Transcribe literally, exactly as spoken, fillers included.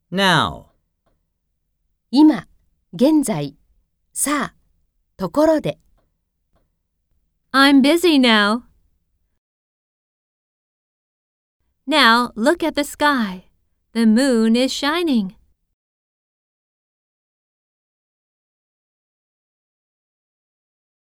Now. 今、現在、さあ、ところで。 I'm busy now. Now look at the sky. The moon is shining.